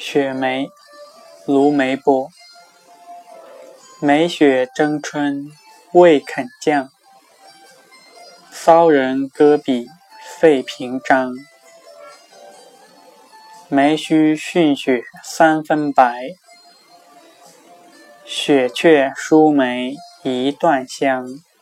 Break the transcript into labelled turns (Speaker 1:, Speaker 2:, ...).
Speaker 1: 雪梅，卢梅波。梅雪争春未肯降，骚人歌笔费评章。梅须逊雪3分白，雪却输梅1段香。